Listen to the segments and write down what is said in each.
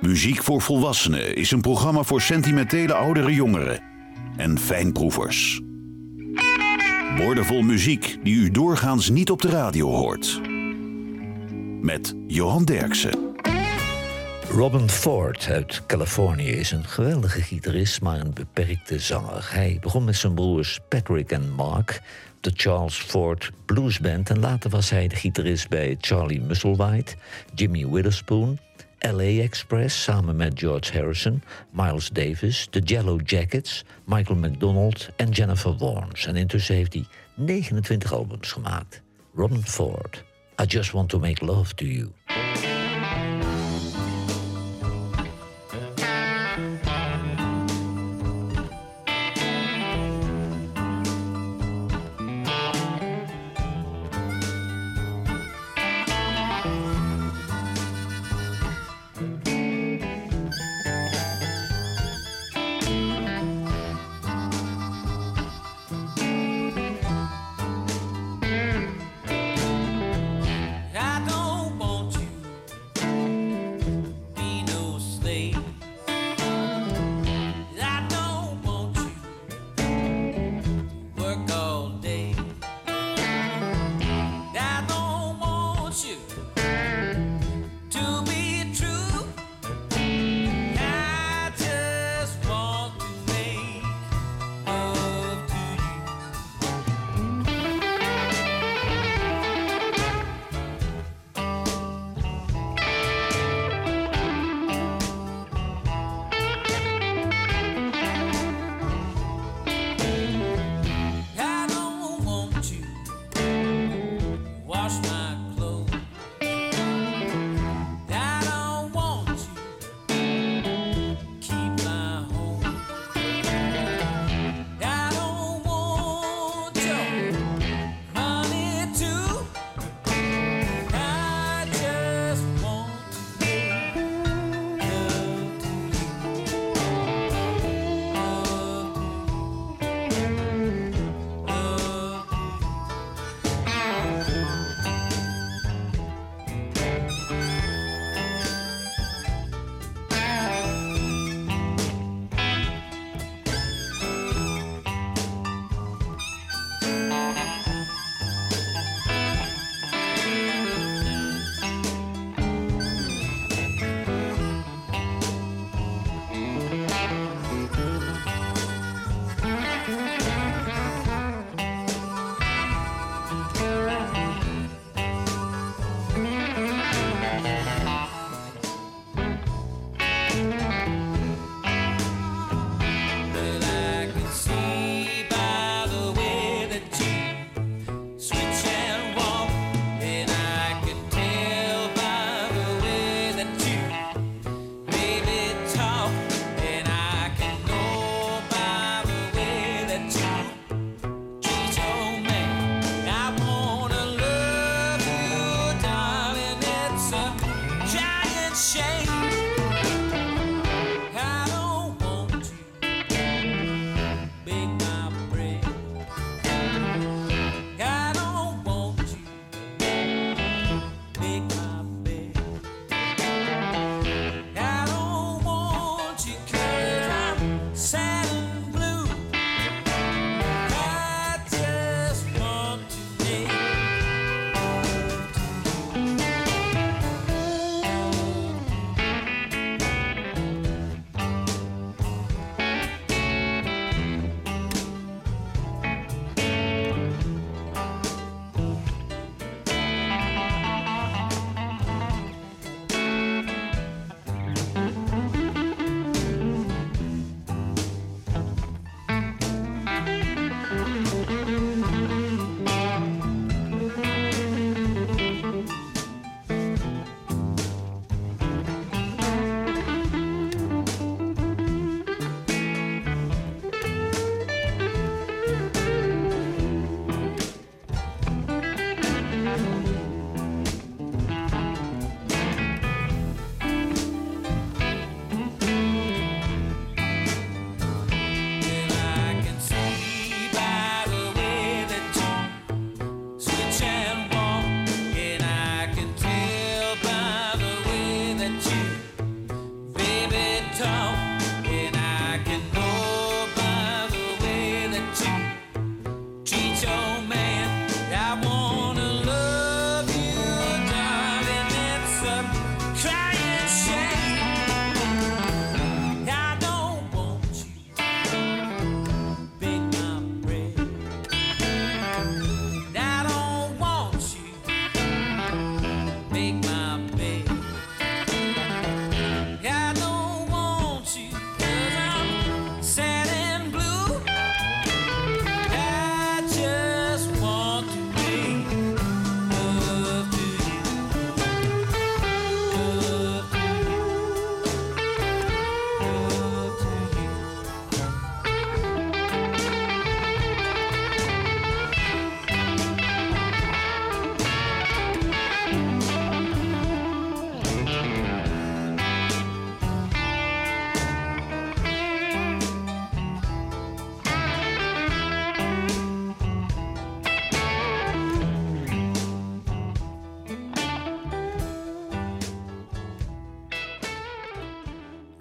Muziek voor Volwassenen is een programma voor sentimentele oudere jongeren en fijnproevers. Woordenvol muziek die u doorgaans niet op de radio hoort. Met Johan Derksen. Robin Ford uit Californië is een geweldige gitarist, maar een beperkte zanger. Hij begon met zijn broers Patrick en Mark, de Charles Ford Blues Band, en later was hij de gitarist bij Charlie Musselwhite, Jimmy Witherspoon, LA Express samen met George Harrison, Miles Davis, de Yellow Jackets, Michael McDonald en Jennifer Warnes. En intussen heeft hij 29 albums gemaakt. Robin Ford, I Just Want to Make Love to You.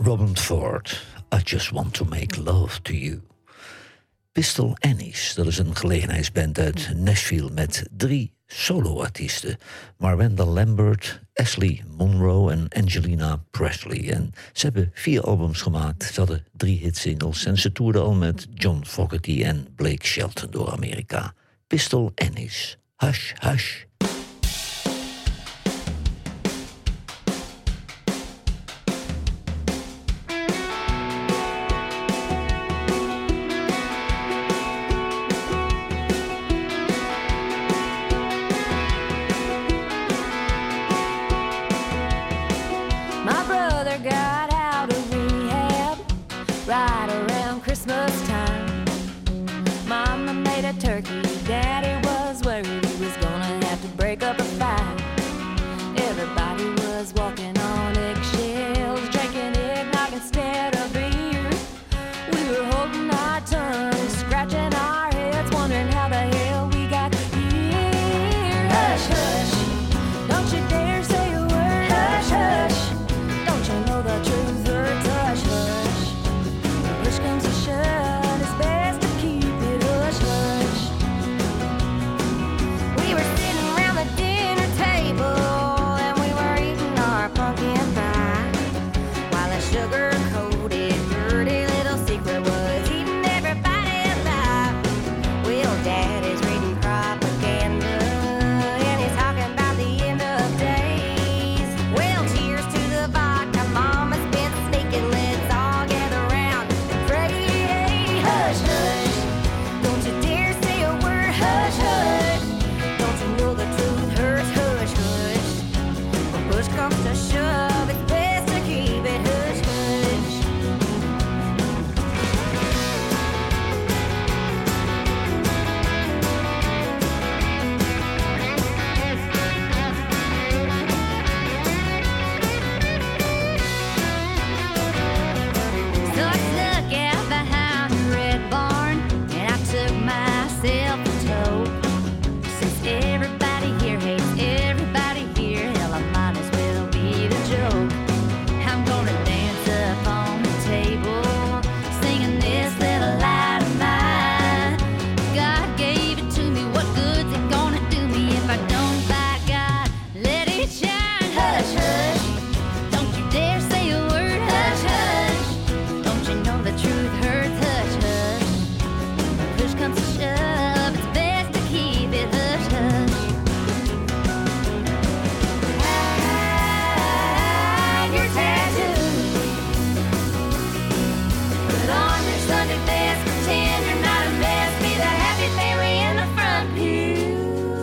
Robin Ford, I Just Want To Make Love To You. Pistol Annies, dat is een gelegenheidsband uit Nashville met 3 soloartiesten. Marwenda Lambert, Ashley Monroe en Angelina Presley. En ze hebben 4 albums gemaakt, ze hadden 3 hitsingles en ze toerden al met John Fogerty en Blake Shelton door Amerika. Pistol Annies, Hush Hush. Turkey, Daddy was worried he was gonna have to break up a fight. Everybody was walking on eggshells, drinking eggnog instead of beer. We were holding our tongues, scratching our heads, wondering how the hell we got here. Hush, hush, don't you dare say a word. Hush, hush, don't you know the truth hurts. Hush, hush, when push comes to shove, it's best to keep it hush, hush. We were sitting around the dinner table and we were eating our pumpkin pie, while a sugar-coated, dirty little secret was eating everybody alive. Well, Daddy's reading propaganda and he's talking about the end of days. Well, cheers to the vodka, Mama's been sneaking. Let's all gather round and pray. Hush, hush, don't you dare say a word. Hush, hush, don't you know the truth hurts. Hush, hush, when push comes to shove, it's best to keep it hush, hush. So I snuck out behind the red barn and I took myself a toke. Since everybody here hates everybody here, hell, I might as well be the joke. I'm gonna dance up on the table, singing this little light of mine. God gave it to me, what good's it gonna do me if I don't? By God, let it shine. Hush, hush, don't you dare say a word. Hush, hush, don't you know the truth hurts. Hush, hush, when push comes to shove, it's best to keep it hush, hush. Hide your tattoos, put on your Sunday best, pretend you're not a mess, be the happy family in the front pew.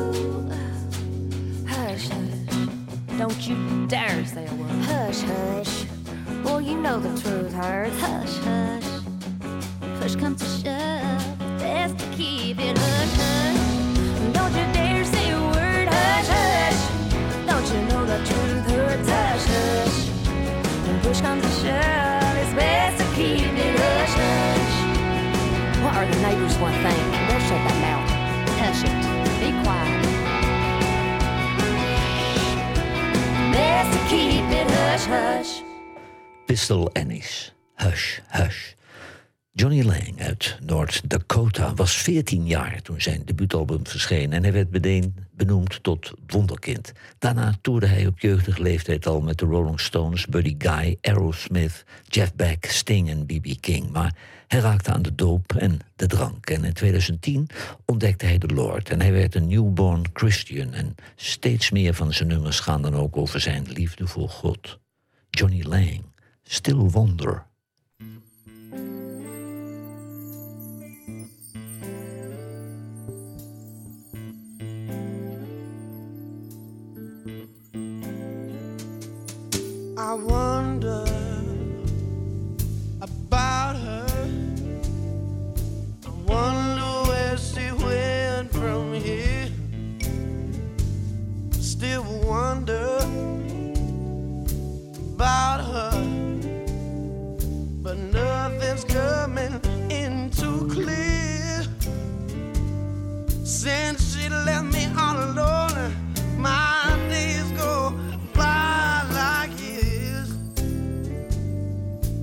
Hush, hush, don't you dare say a word. Hush, hush, well, you know the truth hurts. Hush, hush, push comes to shove, best to keep it hush, hush. Don't you dare say a word. Hush, hush, don't you know the truth hurts. Hush, hush, when push comes to shove, it's best to keep it hush, hush. What are the neighbors gonna think? They'll shut that mouth. Hush it, be quiet. Best to keep it hush, hush. Pistol Annies, Hush Hush. Johnny Lang uit North Dakota was 14 jaar toen zijn debuutalbum verscheen en hij werd meteen benoemd tot wonderkind. Daarna toerde hij op jeugdige leeftijd al met de Rolling Stones, Buddy Guy, Aerosmith, Jeff Beck, Sting en B.B. King. Maar hij raakte aan de doop en de drank. En in 2010 ontdekte hij de Lord en hij werd een newborn Christian. En steeds meer van zijn nummers gaan dan ook over zijn liefde voor God. Johnny Lang, Still Wonder. I wonder about her. I wonder where she went from here. Still wonder about her, but nothing's coming in too clear. Since she left me all alone, my days go by like years.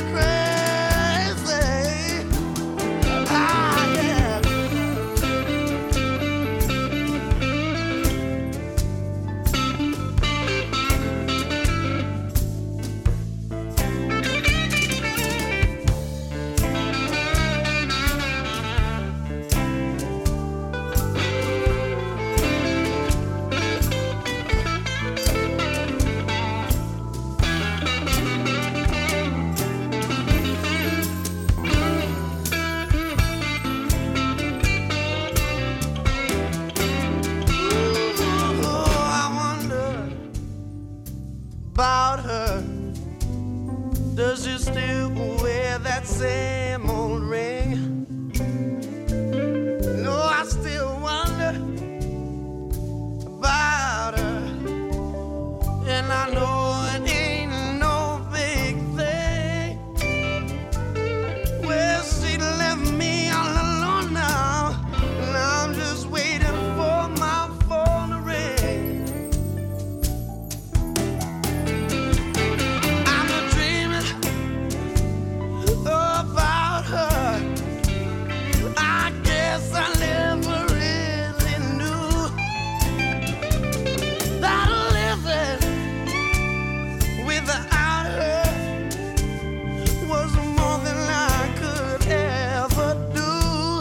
crazy. Ah, yeah. About her. Does she still wear that same old ring? No, I still wonder about her. And I know it ain't no big thing. Well, she left me all alone now. And I'm just waiting for my phone to ring. About her, I guess I never really knew that living without her was more than I could ever do.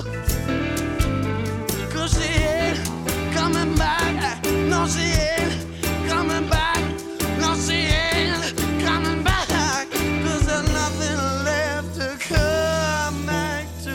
'Cause she ain't coming back, no she ain't coming back, no she ain't coming back. 'Cause there's nothing left to come back to.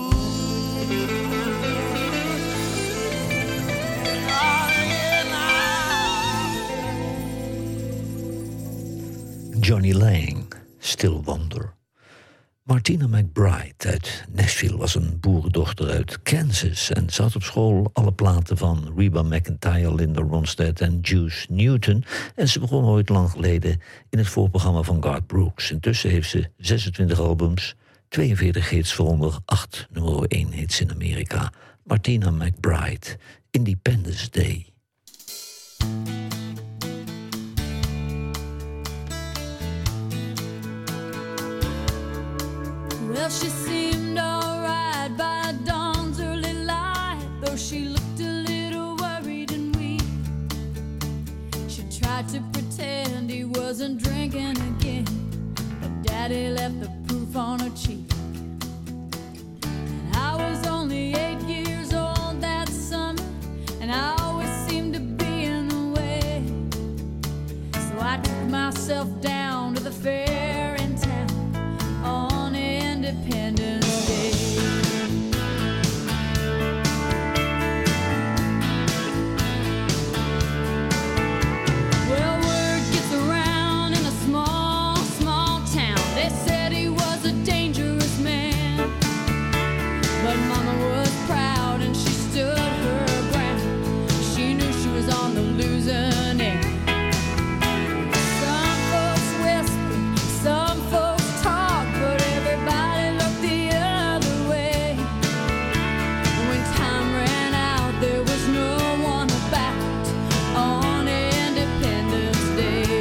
Johnny Lang, Still Wonder. Martina McBride uit Nashville was een boerendochter uit Kansas en ze had op school alle platen van Reba McEntire, Linda Ronstadt en Juice Newton. En ze begon ooit lang geleden in het voorprogramma van Garth Brooks. Intussen heeft ze 26 albums, 42 hits, waaronder 8 nummer 1 hits in Amerika. Martina McBride, Independence Day. Well, she seemed alright by dawn's early light, though she looked a little worried and weak. She tried to pretend he wasn't drinking again, but Daddy left the proof on her cheek. And I was only 8 years old that summer, and I always seemed to be in the way. So I took myself down to the fair in town on Independence Day. Well, word gets around in a small, small town. They said he was a dangerous man, but Mama was proud and she stood her ground. She knew she was on the losing end. Some folks whisper, some folks talk, but everybody looked the other way. When time ran out, there was no one about on Independence Day.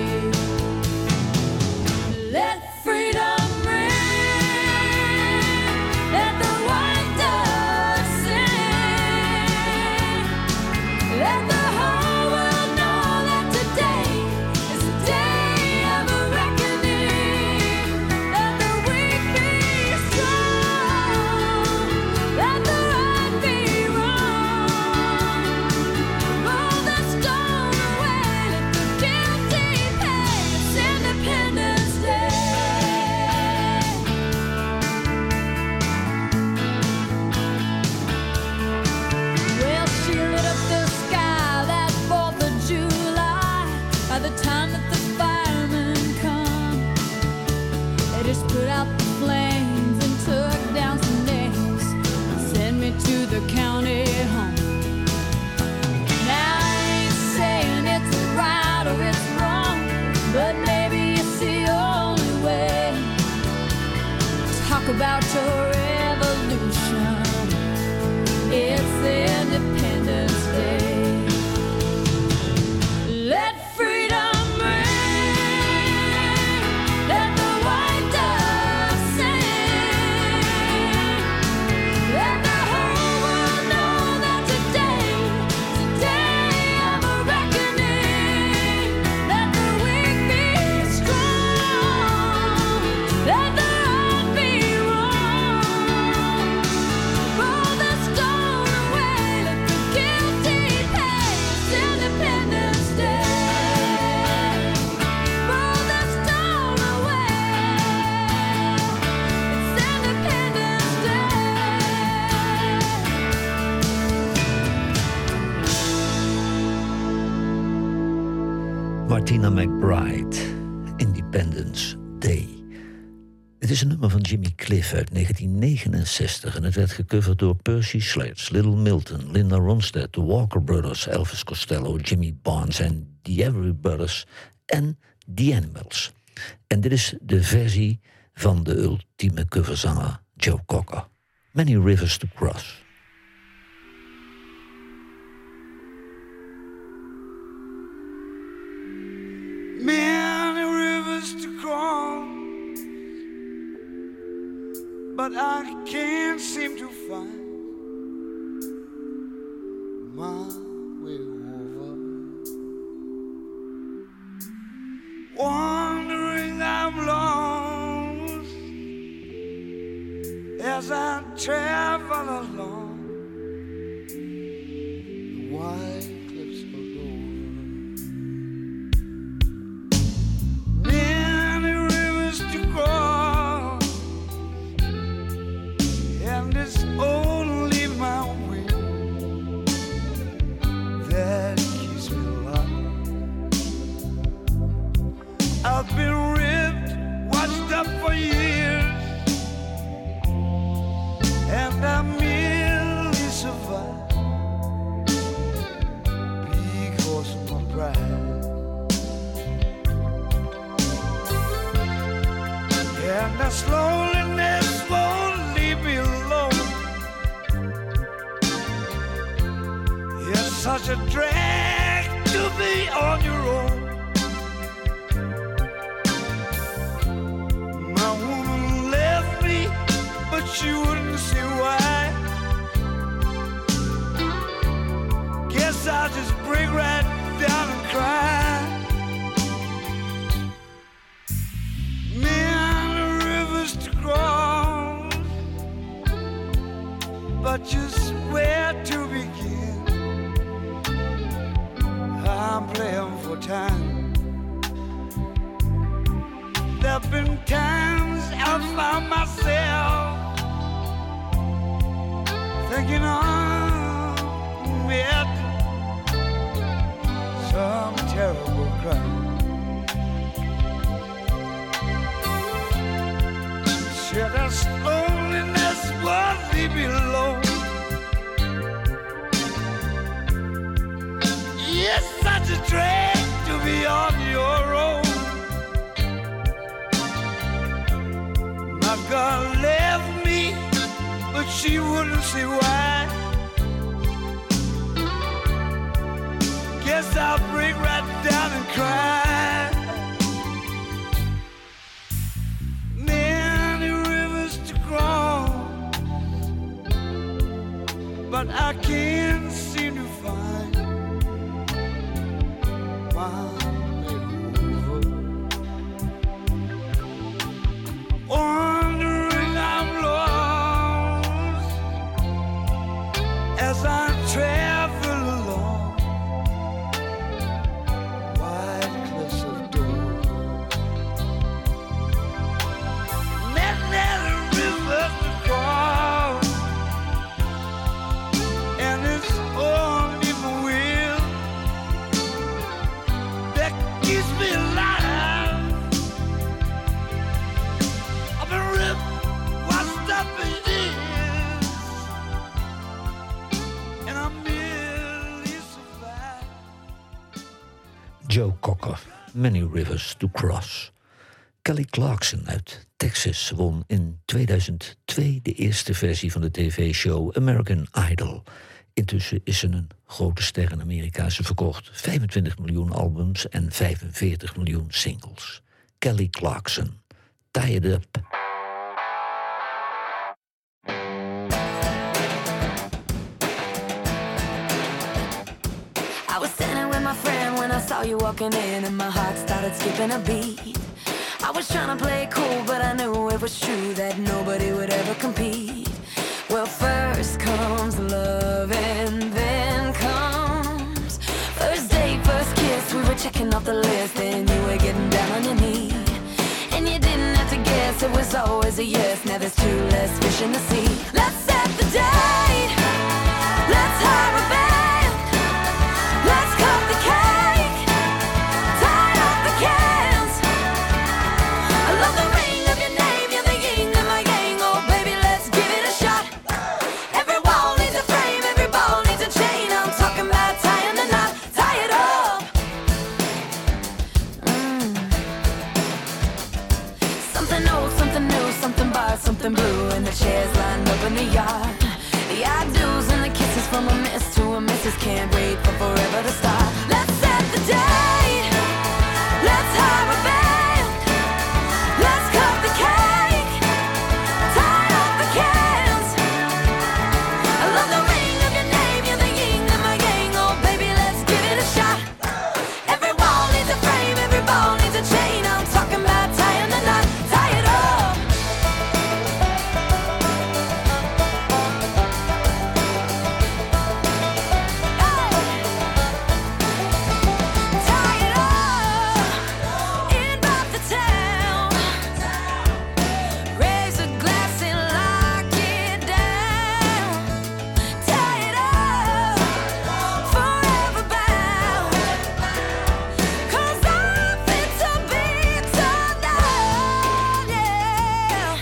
Let freedom ring, let the white dove sing, let the whole world know that today is a day of a reckoning. Let the weak be strong, let the right be wrong. Roll the stone away, let the guilty pay. It's Independence Day. Well, she lit up the sky that 4th of July. By the time that the firemen come, they just put out the flames and took down some names and sent me to the county home. Now I ain't saying it's right or it's wrong, but maybe it's the only way. Talk about your revolution. It's Independence Day. Let freedom ring, let the white dove Martina McBride, Independence Day. Het is een nummer van Jimmy Cliff uit 1969 en het werd gecoverd door Percy Sledge, Little Milton, Linda Ronstadt, The Walker Brothers, Elvis Costello, Jimmy Barnes en The Everly Brothers en The Animals. En dit is de versie van de ultieme coverzanger Joe Cocker. Many Rivers to Cross. Many rivers to cross, but I can't seem to find my way over. Wandering I'm lost as I travel along the wide cliffs of Dover. Many rivers to cross, and it's only my will that keeps me alive. I've been ripped, washed up for years, and I merely survive because of my pride. And the loneliness won't leave me alone. It's such a drag to be on your own. My woman left me, but she wouldn't see why. Guess I'll just break right down and cry. Many rivers to cross, but just where to begin? I'm playing for time. There've been times I found myself thinking I'm at some terrible crime. Sure, this loneliness won't leave me alone. It's such a drag to be on your own. My girl left me, but she wouldn't see why. Guess I'll break right down and cry. Many rivers to cross, but I can't seem to find my way over. Wandering I'm lost as I travel along wide cliffs of Dover. Many rivers to cross, and it's only my will that keeps me alive. I've been ripped, washed up in years, and I merely survive. Joe Cocker, Many Rivers to Cross. Kelly Clarkson uit Texas won in 2002 de eerste versie van de tv-show American Idol. Intussen is ze een grote ster in Amerika. Ze verkocht 25 miljoen albums en 45 miljoen singles. Kelly Clarkson, Tie It Up. I was standing with my friend when I saw you walking in, and my heart started skipping a beat. I was trying to play it cool, but I knew it was true that nobody would ever compete. Well, first comes love and then comes first date, first kiss. We were checking off the list and you were getting down on your knee. And you didn't have to guess, it was always a yes. Now there's two less fish in the sea. Let's set the date, let's hire a band, let's cut the cake, tie about something blue and the chairs lined up in the yard. The I-dos and the kisses from a miss to a missus can't wait for forever to start. Let's set the date. Let's hire a band. Let's cut the cake. Tie up the cans. I love the ring of your name. You're the yin of my yang. Oh, baby, let's give it a shot. Every wall needs a frame. Every ball needs a chain. I'm talking about tying the knot. Tie it up. Tie it up. In by the town. Raise a glass and lock it down. Tie it up. Forever bound. 'Cause I'm fit to be torn down, yeah.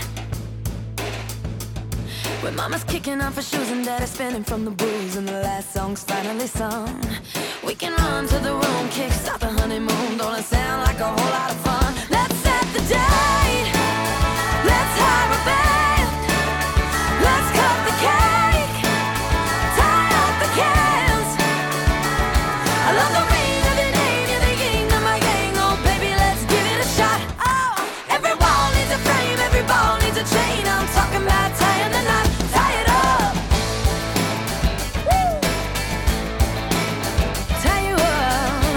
When mama's kicking off her shoes and daddy's spinning from the booze and the last song's finally sung, we can run to the room, kick start the honeymoon. Don't it sound like a whole lot of fun? Let's set the date. Let's hire a band. Let's cut the cake. Tie up the cans. I love the ring of your name. You're the yin of my yang. Oh, baby, let's give it a shot. Oh, every wall needs a frame. Every ball needs a chain. I'm talking about tying the knot. Tie it up. Woo. Tie you up.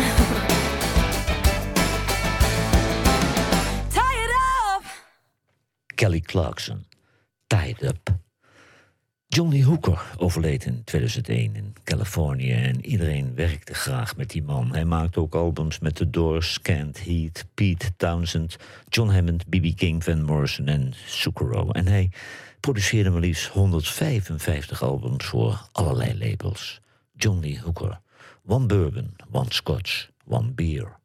Tie it up. Kelly Clarkson, Tied Up. John Lee Hooker overleed in 2001 in Californië en iedereen werkte graag met die man. Hij maakte ook albums met The Doors, Canned Heat, Pete Townsend, John Hammond, B.B. King, Van Morrison en Zucchero. En hij produceerde maar liefst 155 albums voor allerlei labels. John Lee Hooker. One bourbon, one scotch, one beer.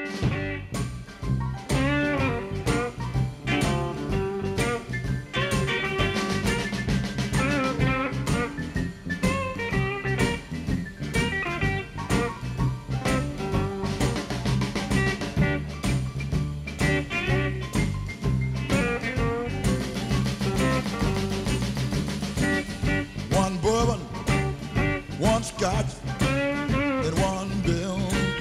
One bourbon, one scotch, and one bill.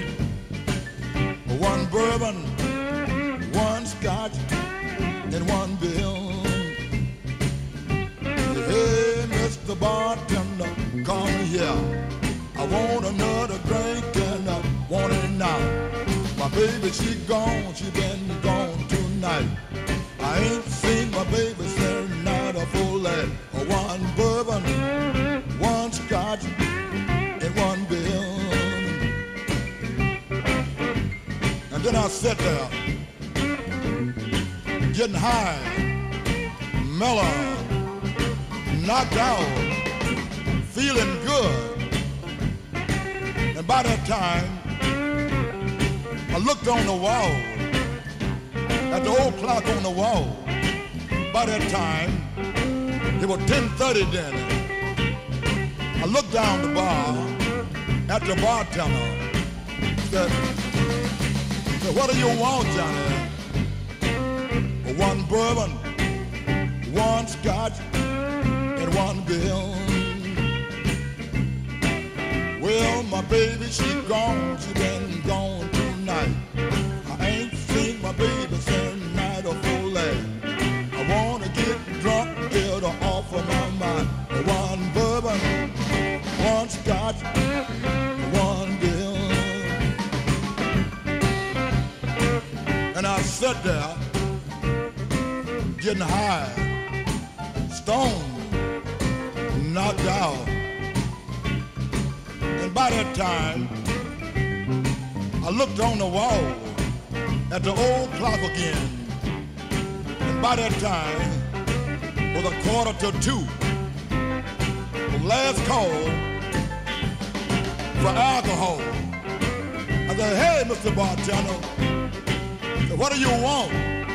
One bourbon, one scotch, and one bill. Hey, Mr. Bartender, come here. I want another drink and I want it now. My baby, she gone, she been gone tonight. I ain't seen my baby since night a full light. One bourbon, one scotch, and one bill. And then I sat there, getting high, mellow, knocked out, feeling good. And by that time, I looked on the wall, at the old clock on the wall. By that time, it was 10:30 then. I looked down the bar at the bartender. Said, what do you want, Johnny? One bourbon, one scotch, and one bill. Well, my baby, she gone, she been gone tonight. I ain't seen my baby since night of full light. I wanna get drunk, get her off of my mind. One bourbon, one scotch, one bill. And I sat there, getting high, stoned, knocked out. And by that time, I looked on the wall at the old clock again. And by that time, it was 1:45. The last call for alcohol. I said, hey, Mr. Bartender, what do you want?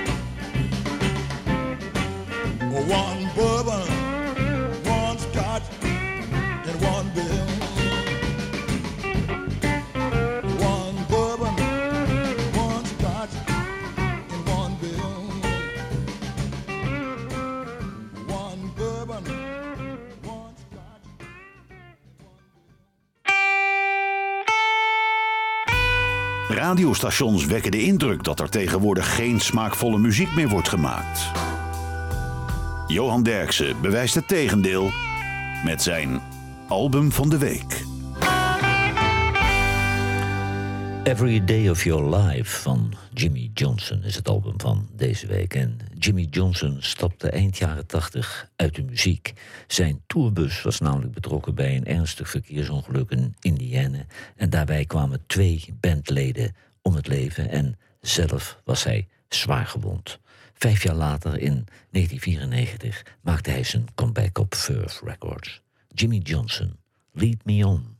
One bourbon, one scotch, and one bill. One bourbon, one scotch, and one bill. Radiostations wekken de indruk dat er tegenwoordig geen smaakvolle muziek meer wordt gemaakt. Johan Derksen bewijst het tegendeel met zijn album van de week. Every Day of Your Life van Jimmy Johnson is het album van deze week. En Jimmy Johnson stapte eind jaren 80 uit de muziek. Zijn tourbus was namelijk betrokken bij een ernstig verkeersongeluk in Indiana. En daarbij kwamen 2 bandleden om het leven en zelf was hij zwaar gewond. 5 jaar later, in 1994, maakte hij zijn comeback op Verve Records. Jimmy Johnson, Lead Me On.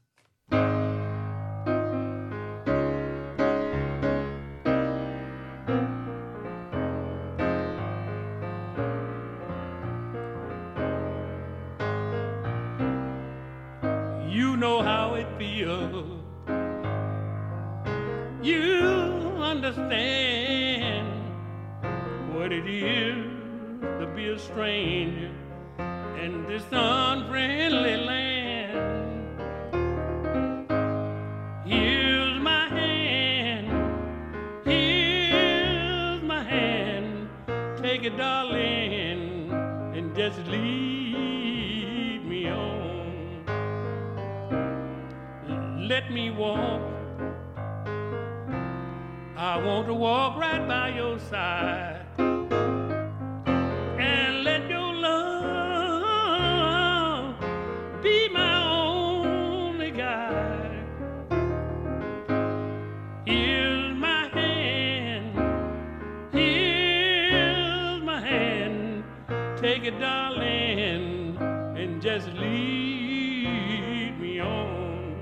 You know how it feels. You understand what it is to be a stranger in this unfriendly land. Here's my hand, take it, darling, and just lead me on. Let me walk, I want to walk right by your side and let your love be my only guide. Here's my hand, take it, darling, and just lead me on.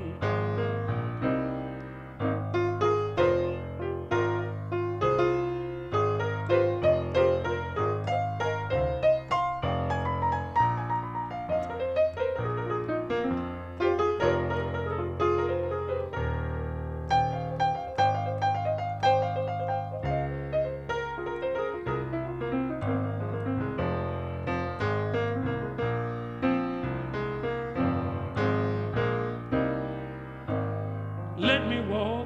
Let me walk,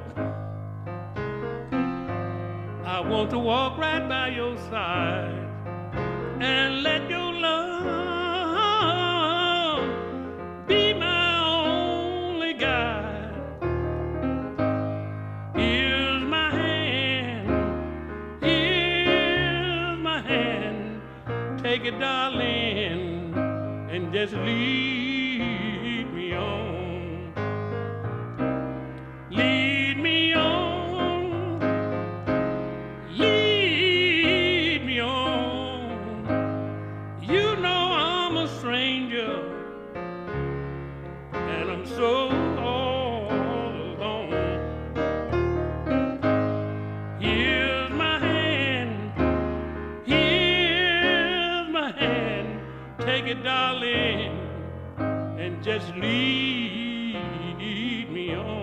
I want to walk right by your side and let your love be my only guide. Here's my hand, take it, darling, and just lead me on. Lead me on, lead me on. You know I'm a stranger, and I'm so all alone. Here's my hand, take it, darling, and just lead me on.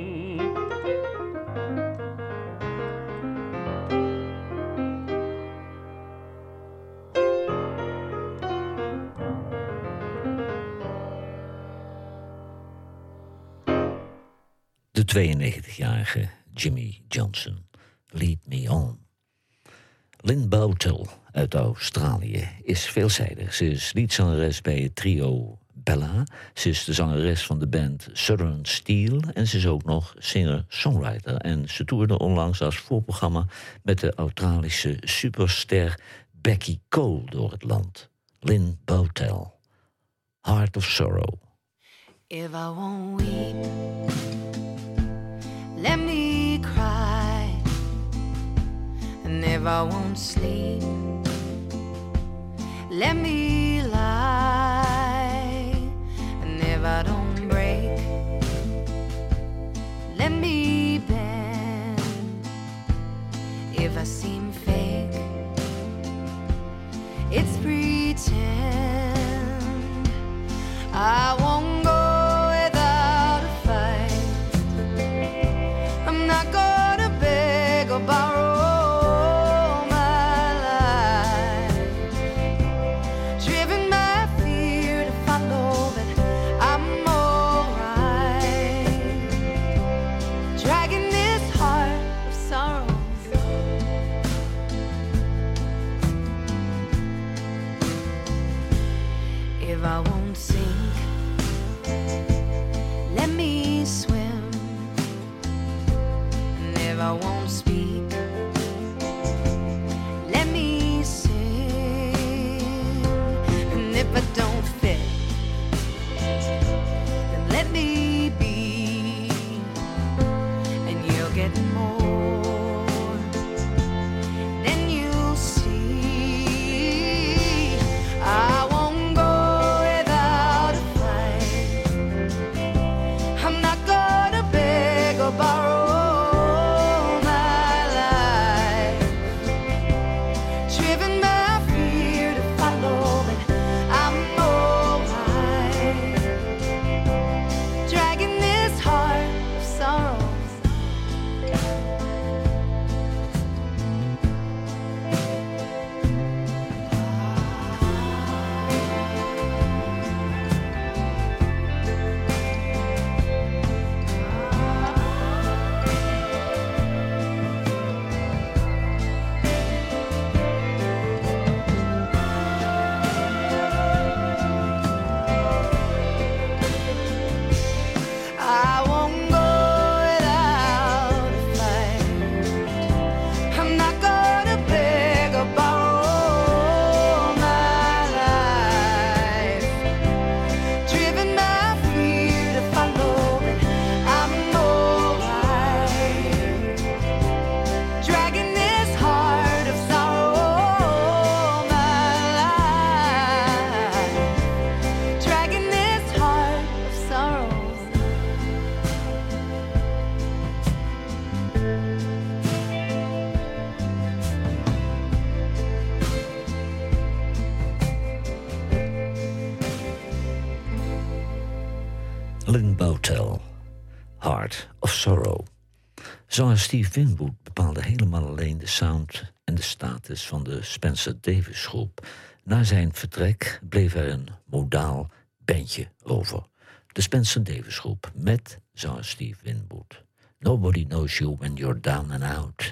De 92-jarige Jimmy Johnson, Lead Me On. Lynn Bowtell uit Australië is veelzijdig. Ze is liedzangeres bij het trio Bella. Ze is de zangeres van de band Southern Steel. En ze is ook nog singer-songwriter. En ze toerde onlangs als voorprogramma met de Australische superster Becky Cole door het land. Lynn Bowtell, Heart of Sorrow. If I won't weep, let me cry. And if I won't sleep, let me lie. And if I don't break, let me bend. If I seem fake, it's pretend. I won't go without a fight. I'm not gonna beg or borrow my life. if I won't sink, let me swim. And if I won't speak, let me sing. And if I don't fit, then let me be. And you'll get more than you'll see. I won't go without a fight. I'm not gonna beg or borrow my life. Driven by fear to follow, but I'm alright. Dragging this heart of sorrows. I won't go without a fight. I'm not gonna beg or borrow my life. Driven by fear to follow, but I'm alright. Dragging this heart of sorrow, my life. Dragging this heart of sorrow. Lynn Bowtell, Heart of Sorrow. Zanger Steve Winwood bepaalde helemaal alleen de sound en de status van de Spencer Davis groep. Na zijn vertrek bleef er een modaal bandje over. De Spencer Davis groep met zanger Steve Winwood. Nobody knows you when you're down and out.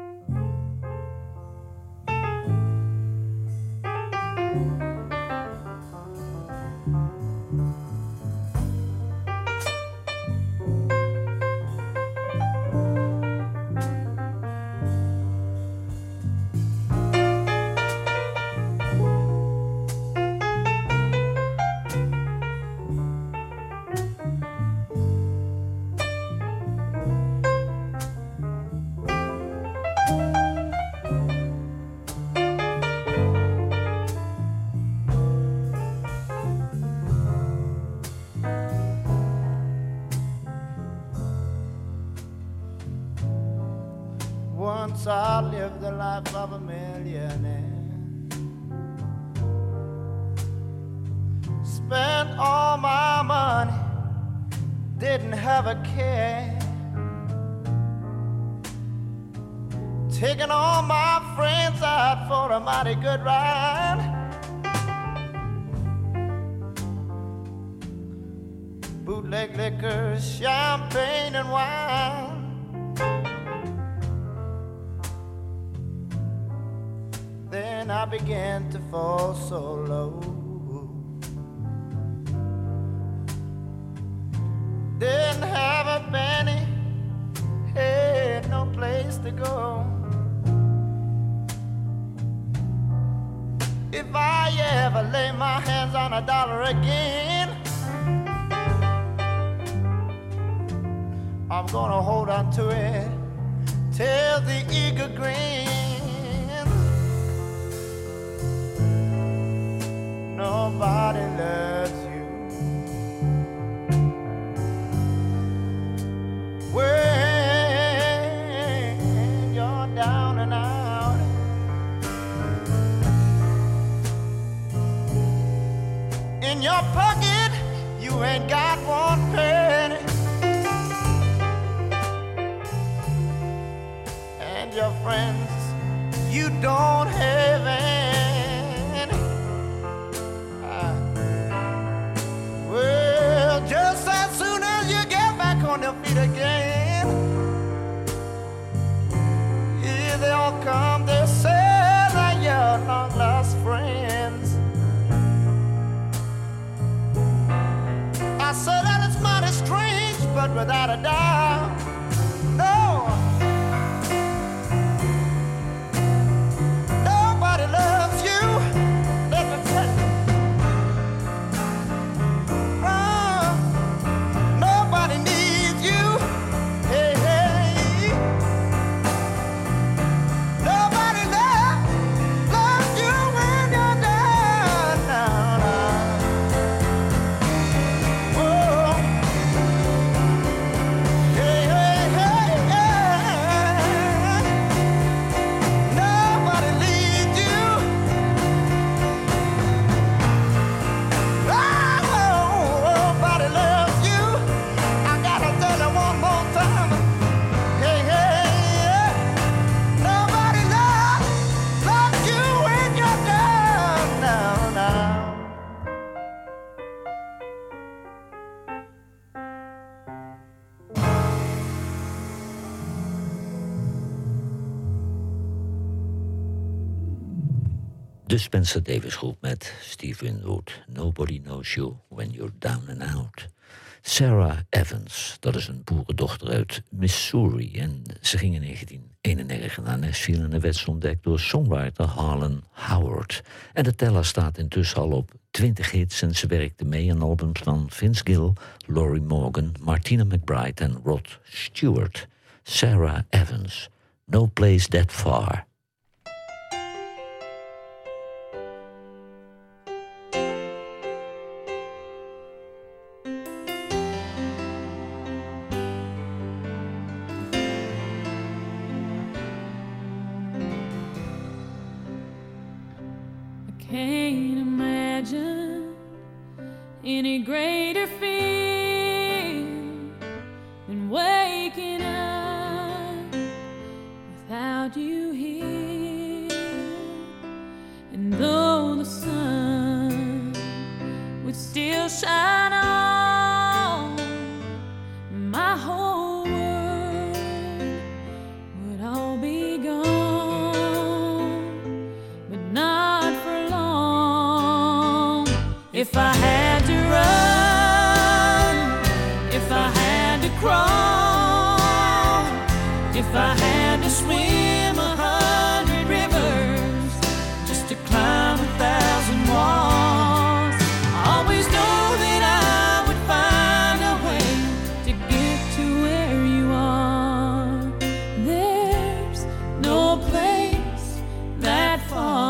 Once I lived the life of a millionaire. Spent all my money, didn't have a care. Taking all my friends out for a mighty good ride. Bootleg liquor, champagne and wine. Then I began to fall so low. Didn't have a penny, had no place to go. If I ever lay my hands on a dollar again, I'm gonna hold on to it till the eagle grins. Nobody loves you when you're down and out. In your pocket, you ain't got one penny, and your friends, you don't have any. Well, just as soon as you get back on your feet again, here they all come, they say that you're long lost friends. would without a doubt. No, nobody loves you. Let me tell you. Nobody needs you. Hey, hey. Nobody loves you when you're down, down, down. Whoa. Hey, hey, hey, hey. Nobody leads you. Nobody loves you. I gotta tell you one more time. Hey, hey, yeah. Nobody loves you when you're down, down, down. De Spencer Davis Groep met Steve Winwood. Nobody knows you when you're down and out. Sarah Evans, dat is een boerendochter uit Missouri. En ze ging in 1991 naar Nashville en werd ze ontdekt door songwriter Harlan Howard. En de teller staat intussen al op 20 hits en ze werkte mee aan albums van Vince Gill, Lorrie Morgan, Martina McBride en Rod Stewart. Sarah Evans, No Place That Far. Can't imagine any greater feeling than waking up without you here. And though the sun would still shine on, my whole world would all be gone, but not for long. If I had to run, if I had to crawl, if I had to swim 100 rivers just to climb 1,000 walls, I always know that I would find a way to get to where you are. There's no place that far.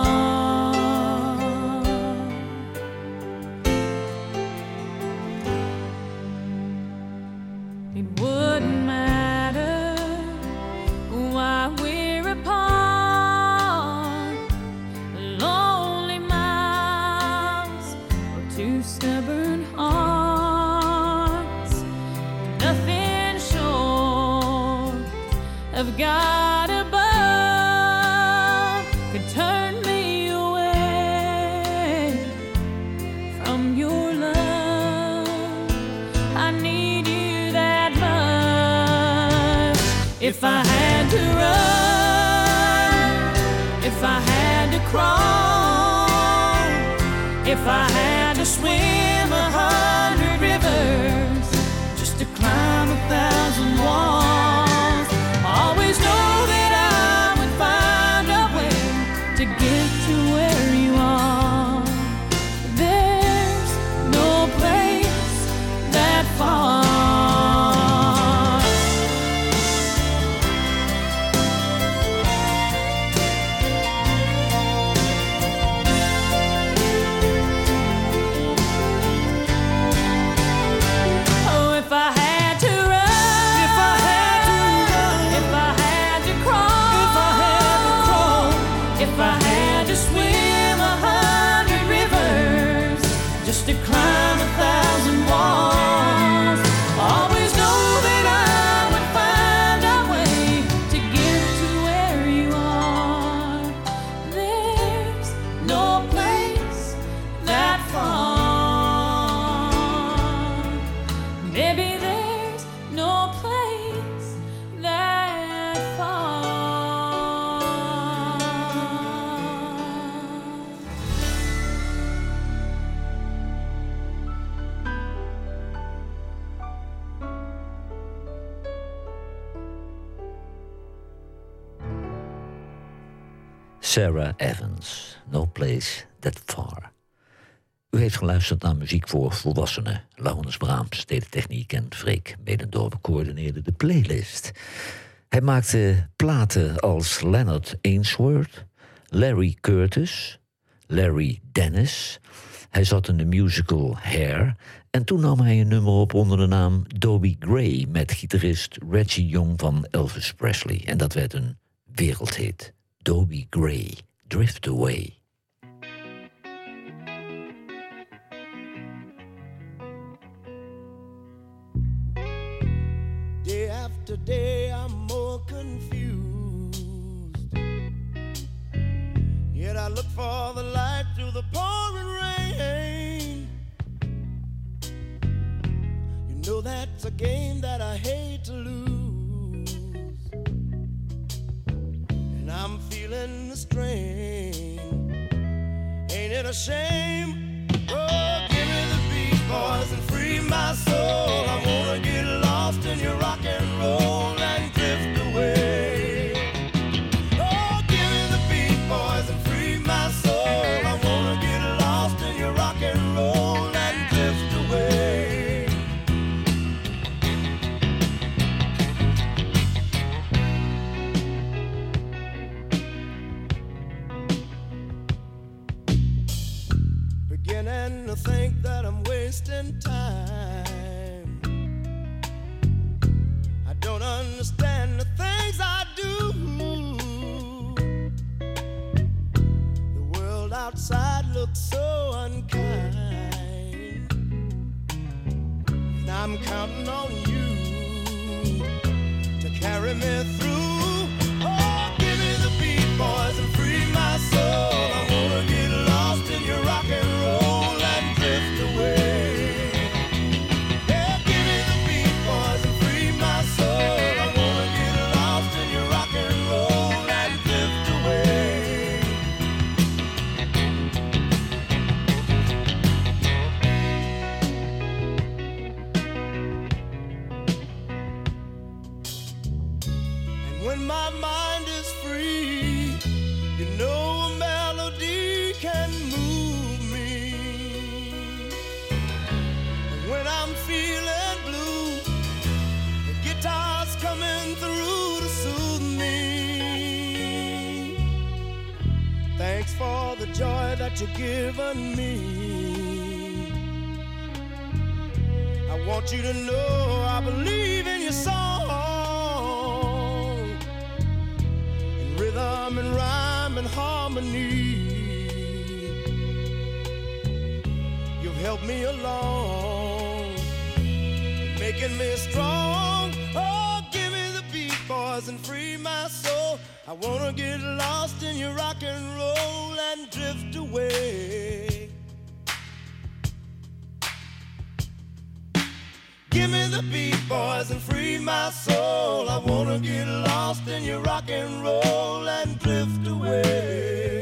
It wouldn't matter why we're apart. Lonely miles or two stubborn hearts. Nothing short of God above could turn me away from your love. I need you that much. If I had to run, if I had to crawl, if I had to swim 100 rivers just to climb 1,000 walls, I always know that I would find a way to get to where you are. There's no place that far. Oh, if I had to run, Sarah Evans, No Place That Far. U heeft geluisterd naar muziek voor volwassenen. Laurens Braams deed de techniek en Freek Medendorp coördineerde de playlist. Hij maakte platen als Leonard Ainsworth, Larry Curtis, Larry Dennis. Hij zat in de musical Hair. En toen nam hij een nummer op onder de naam Dobie Gray met gitarist Reggie Young van Elvis Presley. En dat werd een wereldhit. Dobie Gray, Drift Away. Day after day I'm more confused. Yet I look for the light through the pouring rain. You know that's a game that I hate to lose. And I'm feeling the strain. Ain't it a shame? Oh, give me the beat, boys, and free my soul. I wanna get lost in your rock and roll and drift away. Oh, give me the beat, boys, and free my soul. I wanna get lost in your rock and roll and drift away. Beginning to think that I'm wasting time. I don't understand the things I do. The world outside looks so unkind, and I'm counting on you to carry me through. Oh, give me the beat, boys, and free my soul. I wanna get lost in your rock and roll and drift away. Yeah, give me the beat, boys, and free my soul. I wanna get lost in your rock and roll and drift away. And when my mind is free, you know a melody can move me. And when I'm feeling blue, the guitar's coming through to soothe me. Thanks for the joy that you've given me. I want you to know I believe in your song, in rhythm and rhyme and harmony. You've helped me along, making me strong. Oh, give me the beat, boys, and free my soul. I wanna get lost in your rock and roll and drift away. Give me the beat, boys, and free my soul. I wanna get lost in your rock and roll and drift away.